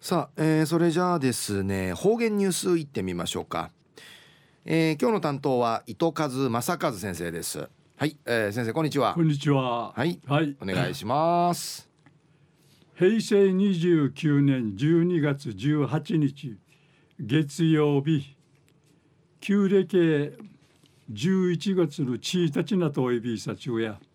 さあ、それじゃあですね、方言ニュースいってみましょうか。今日の担当は糸数正和先生です。はい、先生こんにちは。 こんにちは。 はい、 はい。 お願いします。 平成29年12月18日月曜日、旧暦11月の1日なとおいびさちゅや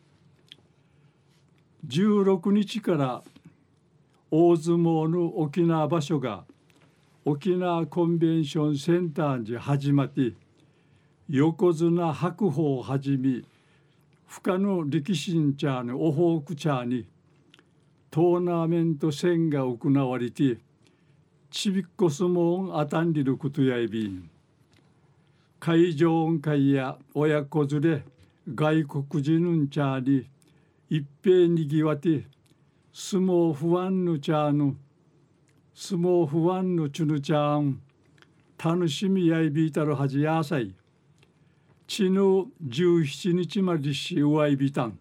16日から大相撲の沖縄場所が沖縄コンベンションセンターに始まって横綱白鵬をはじめ深の力士んちゃのオホークチャーにトーナメント戦が行われてちびっこ相撲あたんりることやいびん会場会や親子連れ外国人んちゃに一平にぎわて相撲不安のちゃの相撲不安のちゅぬちゃん楽しみやいびいたるはじやさいちぬ17日までしうわいびたん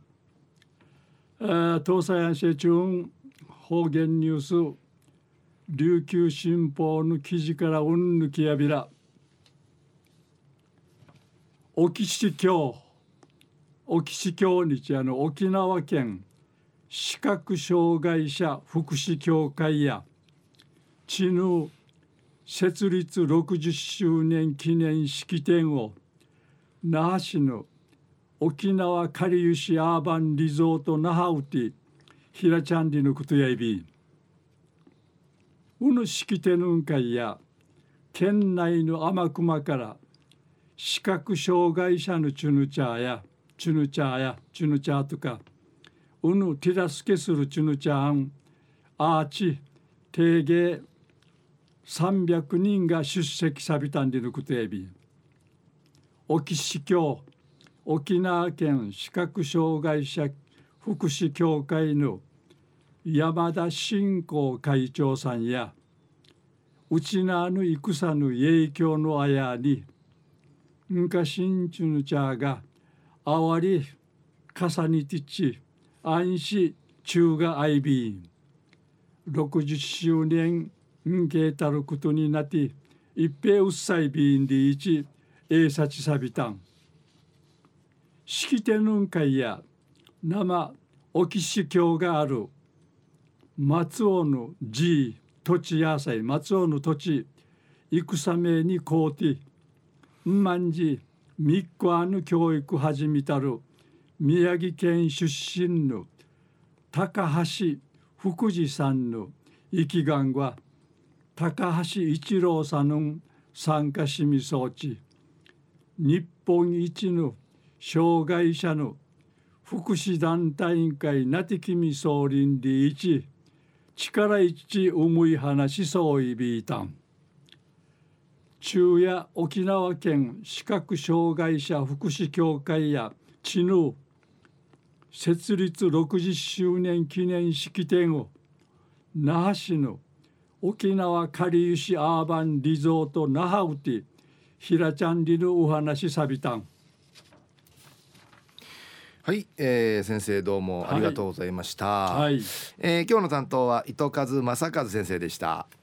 東西安市中方言ニュース琉球新報の記事からうんぬきやびら沖市協日沖縄県視覚障害者福祉協会や知ぬ設立60周年記念式典を那覇市の沖縄かりゆしアーバンリゾート那覇ウティひらちゃんりのことやいびうぬ式典の会や県内の天熊から視覚障害者のチュヌチャーとかうぬ手助けするチュヌチャーンアーチ定芸300人が出席さびたんでのことやび沖市協沖縄県視覚障害者福祉協会の山田信仰会長さんやうちなぬ戦の影響のあやにんかしんちゅぬちゃがあわりかさにてち安心中があいびん60周年んけたることになって一平うっさいびんでいちえいさちさびたん式典の会や生沖市郷がある松尾の地土地野菜松尾の土地戦めにこうてんまんじみっこあぬ教育始めたる宮城県出身の高橋福次さんの生きがんは高橋一郎さんの参加しみそうち日本一の障害者の福祉団体委員会なてきみ総林で一力一重い話そういびいたん中や沖縄県視覚障害者福祉協会や知ぬ設立60周年記念式典を那覇市の沖縄かりゆしアーバンリゾート那覇ウティひらちゃんりのお話さびたんはい、先生どうもありがとうございました。 はい、 今日の担当は糸数正和先生でした。